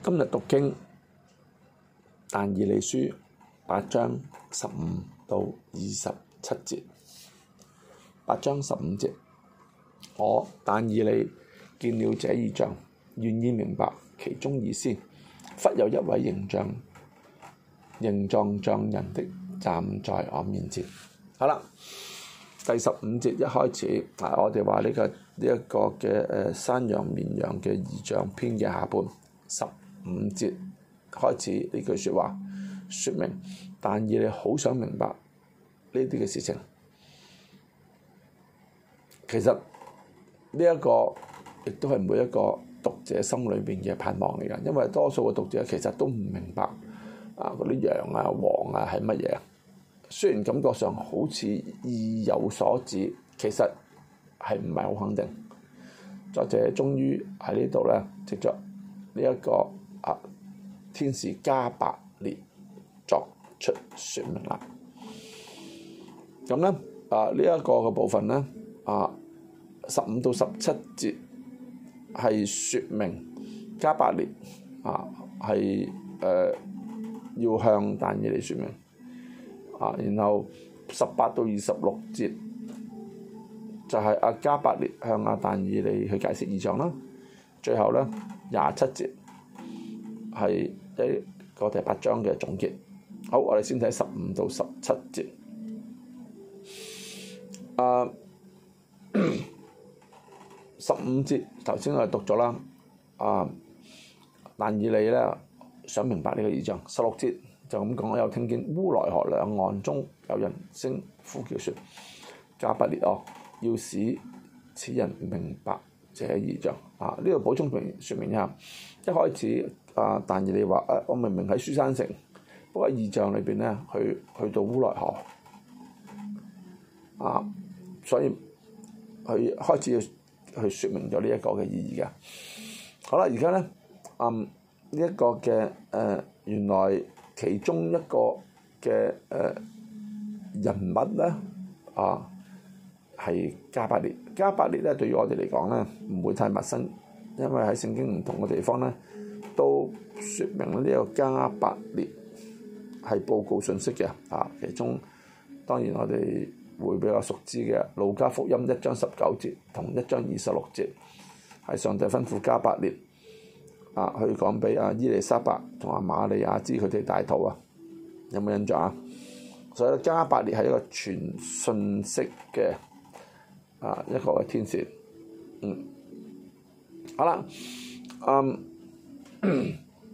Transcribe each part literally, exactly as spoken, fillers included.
今日讀經但以理書八章十五到二十七節。八章十五節，我但以理見了這異象，願意明白其中意思。忽有一位形象形狀像人的站在我面前。好啦，第十五節一開始，啊，我哋話呢個呢一、這個嘅誒山羊綿羊嘅異象篇嘅下半，十五節開始呢句説話，説明但以理好想明白呢啲嘅事情。其實呢一個亦都係每一個讀者心裏邊嘅盼望嚟㗎，因為多數嘅讀者其實都唔明白啊嗰啲羊啊、王啊係乜嘢。雖然感覺上好似意有所指，其實係唔係好肯定。作者終於喺呢度咧，藉着呢一個啊天使加百列作出説明啦。咁咧啊呢一個嘅部分咧啊十五到十七節係説明加百列啊係誒要向但以理説明。啊，然後十八到二十六節就係、是、阿加百列向阿但以理去解釋異象啦。最後咧廿七節係一個第八章嘅總結。好，我哋先睇十五到十七節。啊，十五節頭先我哋讀咗啦。啊，但以理咧想明白呢個異象。十六節。就咁講，我有聽見烏來河兩岸中有人聲呼叫說：加百列哦，要使此人明白這異象。啊，呢度補充明説明一下。一開始啊，但以理話：誒、啊，我明明喺書珊城，不過異象裏邊咧，去去到烏來河。啊，所以佢開始要去説明咗呢一個嘅意義嘅。好啦，而家咧，嗯，呢、這、一個嘅誒、呃、原來。其中一個嘅誒、呃、人物咧，啊係加百列。加百列咧對於我哋嚟講咧唔會太陌生，因為喺聖經唔同嘅地方咧都説明呢個加百列係報告信息嘅。啊，其中當然我哋會比較熟知嘅路加福音一章十九節同一章二十六節，係上帝吩咐加百列。啊，去講俾阿伊麗莎白同阿瑪利亞知佢哋大肚啊，有冇印象啊？所以加百列係一個傳信息嘅啊一個嘅天使。嗯，好啦，嗯，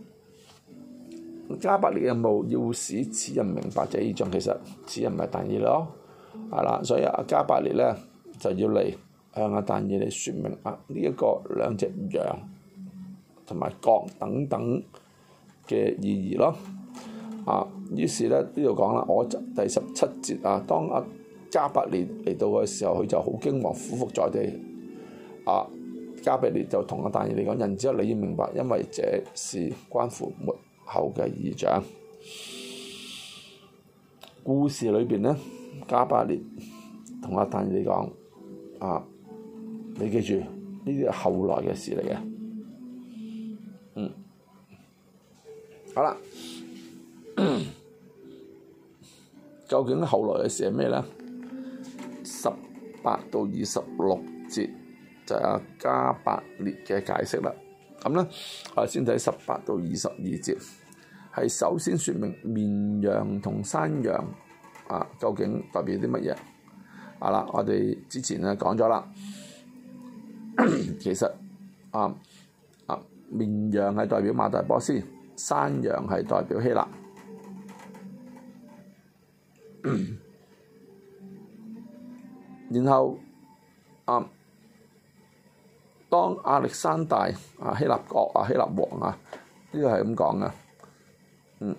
加百列嘅任務要使此人明白這異象，其實此人唔係但以理咯，係啦，所以阿加百列咧就要嚟向阿但以理説明啊呢一個兩隻羊同埋角等等嘅意義咯。啊，於是咧呢度講啦，我第十七節啊，當阿加百列嚟到嘅時候，佢就好驚惶，俯伏在地。啊，加百列就同阿但以理講：人子啊，你要明白，因為這是關乎末後嘅異象。故事裏邊咧，加百列同阿但以理講：啊，你記住，呢啲係後來嘅事嚟嘅。嗯，好啦，究竟後來嘅事係咩咧？十八到二十六節就係阿加百列嘅解釋啦。咁咧，我哋先睇十八到二十二節，係首先説明綿羊同山羊啊，究竟代表啲乜嘢？啊啦，我哋之前咧講咗啦，其實啊啊。綿羊係代表馬大波斯，山羊係代表希臘。然後啊，當亞歷山大啊希臘國啊希臘王啊，呢個係咁講嘅。嗯，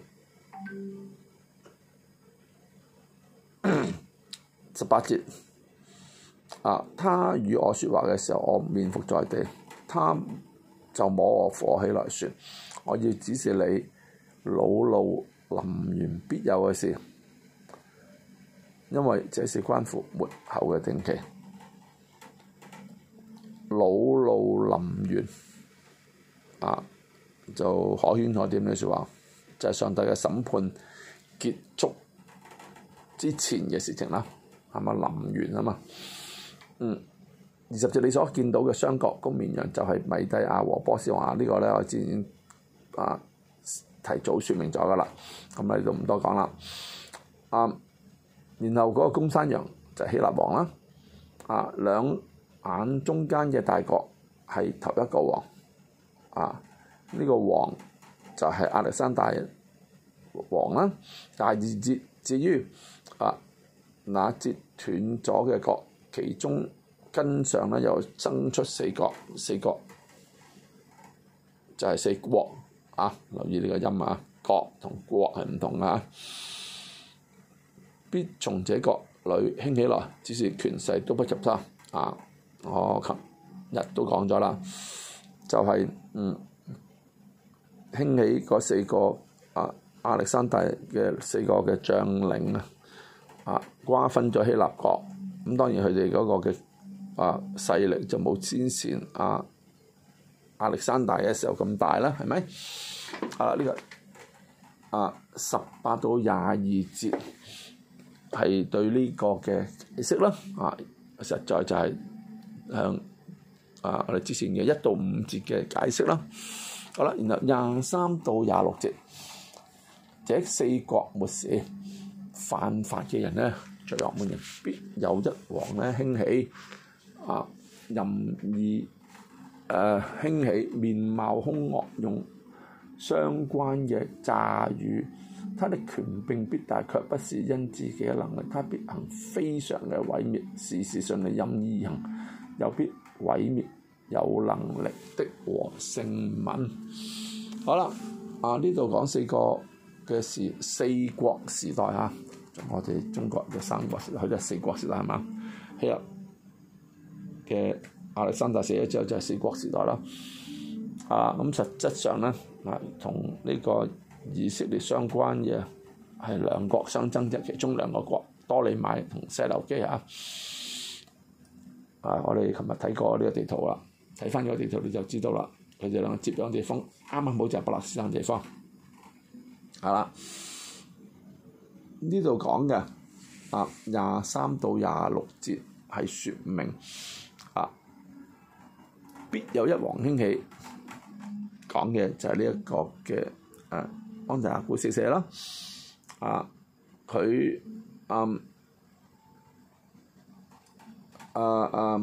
十八節啊，他與我説話嘅時候，我面伏在地，他就摸我火起來說：我要指示你惱怒臨完必有嘅事，因為這是關乎末後嘅定期。惱怒臨完啊， 就可圈可點嘅説話，就係、是、上帝嘅審判結束之前嘅事情啦，係咪臨完啊嘛？嗯，二十節你所見到嘅雙角公綿羊就係米底亞和波斯王，這個、呢個咧我之前啊提早説明咗噶啦，咁你都唔多講啦。啊，然後嗰個公山羊就係希臘王啦，啊兩眼中間嘅大角係頭一個王，啊呢、這個王就係亞歷山大王啦。第二節至於啊那截斷咗嘅角，其中根上咧又生出四角，四角就係四國啊！留意呢個音啊，角同國係唔同啊。必從這角裏興起來，只是權勢都不及他啊！我琴日都講咗啦，就係、是、嗯興起嗰四個啊亞歷山大嘅四個嘅將領啊，啊瓜分咗希臘國，咁當然佢哋嗰個嘅啊勢力就冇先前啊亞歷山大嘅時候咁大啦，係咪？啊呢、這個啊十八到廿二節係對呢個嘅解釋啦，啊實在就係向啊我哋之前嘅一到五節嘅解釋啦。好啦，然後廿三到廿六節，這四國末時，犯法嘅人咧，罪惡滿盈，必有一王咧興起，啊任意誒、呃、興起，面貌兇惡，用相關嘅詐語，他的權柄必大，卻不是因自己嘅能力，他必行非常嘅毀滅，事事順利，任意行，又必毀滅有能力的和聖民。好啦，啊呢度講四個嘅時四國時代啊，我哋中國嘅三國時代，佢就係四國時代係嘛？希臘嘅亞歷山大死咗之後就係四國時代啦。啊咁實質上咧，啊同呢個以色列相關嘅係兩國相爭嘅其中兩個國，多利買同西流基啊。啊，我哋琴日睇過呢個地圖啦。睇翻個地圖你就知道啦，佢哋兩個接壤嘅地方啱啱好就係巴勒斯坦地方，係啦。呢度講嘅啊廿三到廿六節係説明啊必有一王興起，講嘅就係呢一個嘅誒安提阿古四世啦。啊，佢嗯啊啊。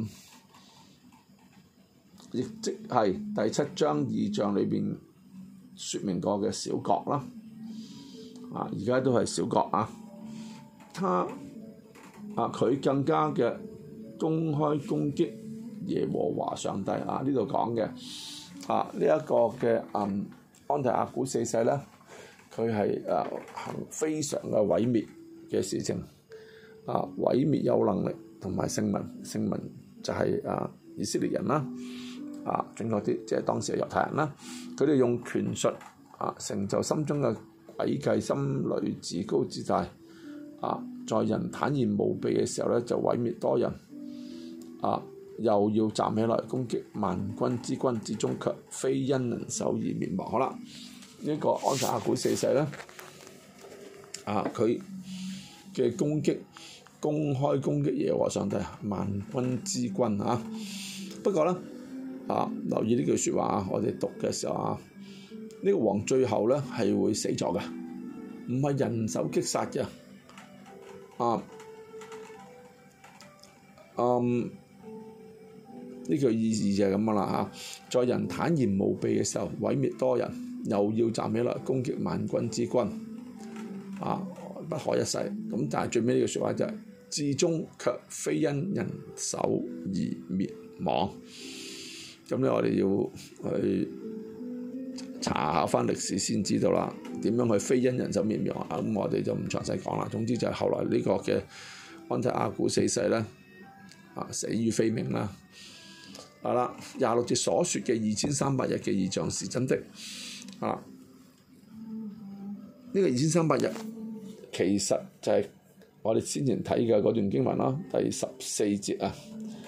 亦即係第七章異象裏邊説明過嘅小國啦，啊而家都係小國啊，他啊佢更加嘅公開攻擊耶和華上帝啊，呢度講嘅啊呢一、這個嘅嗯安提阿古四世咧，佢係誒行非常嘅毀滅嘅事情，啊毀滅有能力同埋聖民，聖民就係、是、啊以色列人啦。啊，整嗰啲即係當時嘅猶太人啦，佢哋用權術啊成就心中嘅詭計，心裏自高自大，啊，在人坦然無備嘅時候咧就毀滅多人，啊，又要站起來攻擊萬軍之君，之中卻非因人手而滅亡。好啦，呢、這個安提阿古四世咧，啊，佢嘅攻擊公開攻擊耶和華上帝萬軍之君啊，不過咧。啊！留意呢句説話啊！我哋讀嘅時候啊，呢、這個王最後咧係會死咗嘅，唔係人手擊殺嘅。啊，嗯，呢句意義就係咁樣啦嚇。在人坦然無備嘅時候，毀滅多人，又要站起來攻擊萬軍之君，啊，不可一世。咁但係最尾呢句説話就係、是：至終卻非因人手而滅亡。咁咧，我哋要去查下翻歷史先知道啦，點樣去非因人手滅亡啊？咁我哋就唔詳細講啦。總之就係後來呢個嘅安提阿古四世咧，啊死於非命啦。好啦，廿六節所説嘅二千三百日嘅異象是真的。啊，呢、這個二千三百日其實就係我哋先前睇嘅嗰段經文啦，第十四節啊，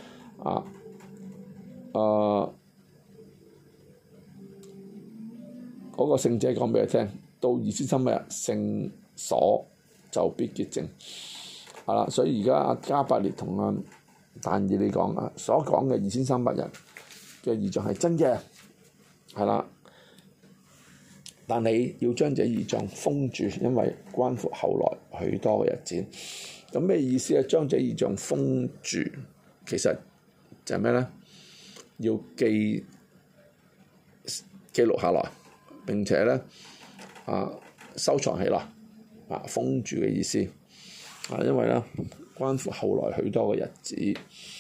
啊。誒、uh, 嗰個聖者講俾佢聽，到二千三百日聖所就必潔淨。係啦，所以而家阿加百列同阿但以理講啊，所講嘅二千三百日嘅異象係真嘅，係啦。但你要將這異象封住，因為關乎後來許多嘅日子。咁咩意思啊？將這異象封住，其實就係咩咧？要記記錄下來，並且咧啊收藏起來啊，封住嘅意思啊，因為咧關乎後來許多嘅日子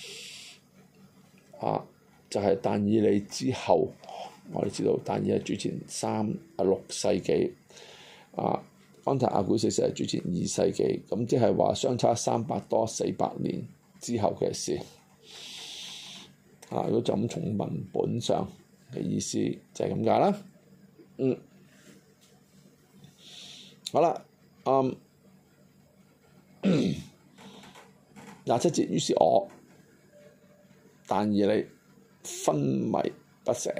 啊，就係、是、但以理之後。我哋知道，但以理係主前三啊六世紀，啊安提阿古四世係主前二世紀，咁即係話相差三百多四百年之後嘅事。啊，如果就咁從文本上嘅意思就係咁解啦。嗯，好啦，嗯，廿七節，於是我但以理昏迷不醒，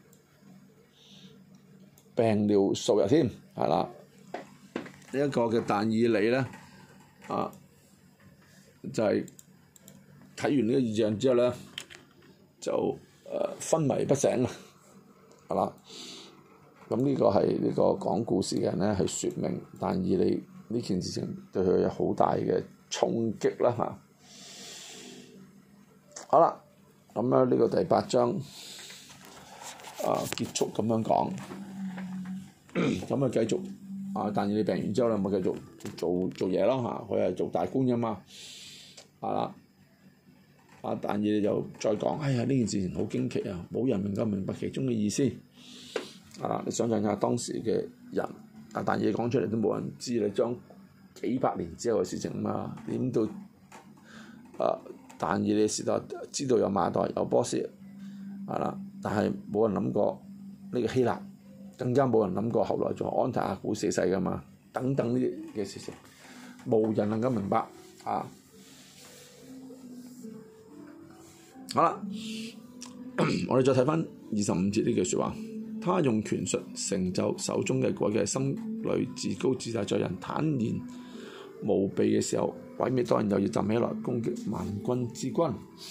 病了數日添，係啦，呢、這、一個嘅但以理咧，啊，就係、是、睇完呢個異象之後咧，就誒、呃、昏迷不醒啊，係啦，咁呢個係呢個講故事嘅人咧，係説明但以理呢件事情對佢有好大嘅衝擊啦嚇。好啦，咁咧呢個第八章啊結束咁樣講。咁啊繼續啊，但以理病完之後咧，咪繼續做做嘢咯嚇，佢係做大官噶嘛，係啦，啊但以理就再講，哎呀呢件事情好驚奇啊，冇人能夠明白其中嘅意思，啊你想象下當時嘅人，啊但以理講出嚟都冇人知，你將幾百年之後嘅事情嘛，點到啊但以理時代知道有馬代有波斯，係啦，但係冇人諗過呢個希臘。更加冇人諗過，後來仲有安提阿古四世噶嘛，等等呢啲嘅事情，無人能夠明白啊！好啦，我哋再睇翻二十五節呢句説話，他用權術成就手中嘅詭計，心裏自高自大，在人坦然無備嘅時候，毀滅多人，又要站起來攻擊萬軍之君。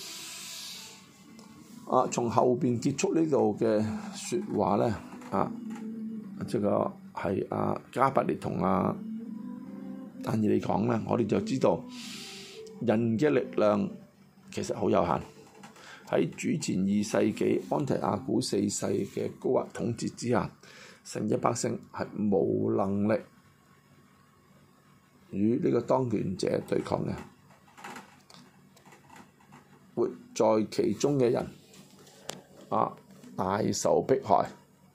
啊，從後邊結束呢度嘅説話咧，啊〜即個係阿加百列同阿但以理講咧，我哋就知道人嘅力量其實好有限。喺主前二世紀安提阿古四世嘅高壓統治之下，神嘅百姓係冇能力與呢個當權者對抗嘅。活在其中嘅人啊，大受迫害。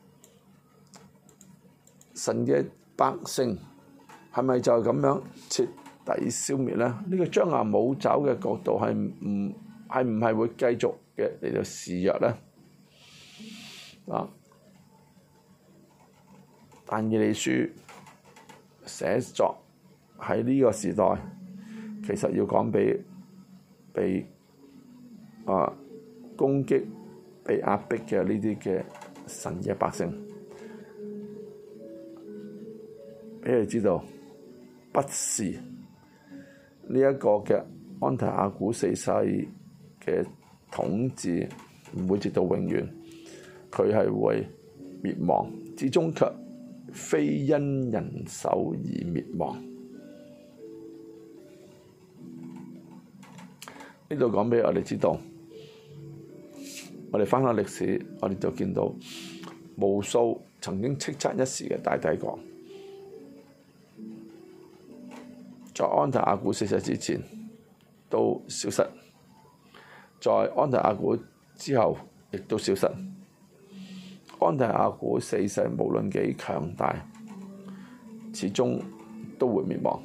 神嘅百姓係咪就係咁樣徹底消滅咧？呢、這個張牙舞爪嘅角度係唔係唔係會繼續嘅嚟到肆虐咧？啊！但以理書寫作喺呢個時代，其實要講俾被啊攻擊、被壓迫嘅呢啲嘅神嘅百姓。俾你知道，不是呢一個嘅安提阿古四世嘅統治唔會直到永遠，佢係會滅亡，至終卻非因人手而滅亡。呢度講俾我哋知道，我哋翻下歷史，我哋就見到無數曾經叱咤一時嘅大帝國。在安提阿古四世之前都消失，在安提阿古之後亦都消失。安提阿古四世無論幾強大，始終都會滅亡，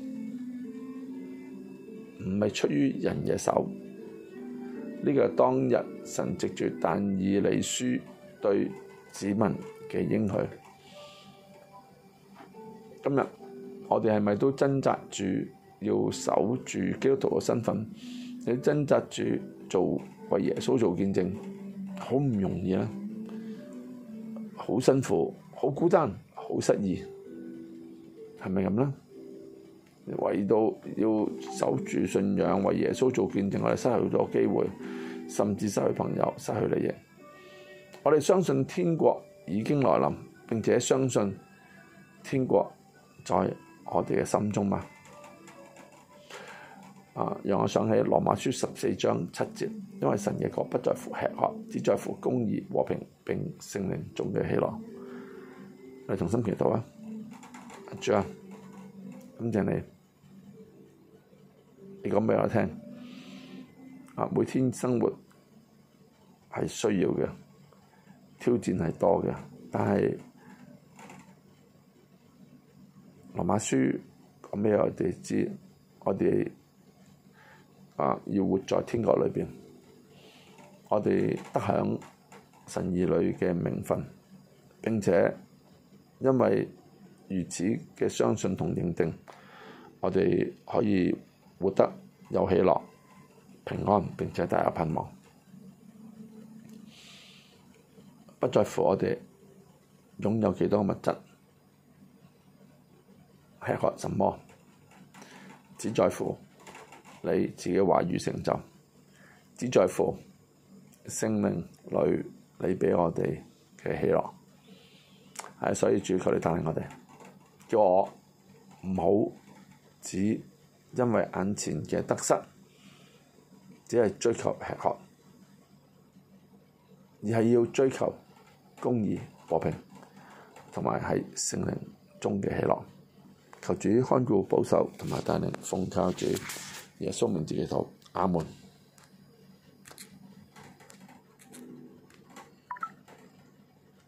唔係出於人嘅手。呢、這個係當日神藉住但以理書對子民嘅應許。今日我哋係咪都掙扎住要守住基督徒嘅身份？你掙扎住做為耶穌做見證，好唔容易啊！好辛苦，好好孤單、好失意，係咪咁呢？為到要守住信仰，為耶穌做見證，我哋失去咗機會，甚至失去朋友、失去利益。我哋相信天國已經來臨，並且相信天國在我哋嘅心中嘛。啊，讓我想起羅馬書十四章七節，因為神嘅國不在乎吃喝，只在乎公義、和平並聖靈中嘅喜樂。我哋同心祈禱啊！主啊，感謝你，你講俾我聽，啊，每天生活係需要嘅，挑戰係多嘅，但係羅馬書講俾我哋知，我哋啊要活在天國裏邊，我哋得享神兒女嘅名分，並且因為如此嘅相信同認定，我哋可以活得有喜樂、平安，並且大有盼望。不在乎我哋擁有幾多物質、吃喝什麼，只在乎你自己話語成就，只在乎聖靈裏你畀我哋嘅喜樂。係，所以主求你帶領我哋，叫我唔好只因為眼前嘅得失，只係追求吃喝，而係要追求公義、和平，同埋喺聖靈中嘅喜樂。求主看顧保守同埋帶領，奉靠主耶穌名字祈禱，阿門。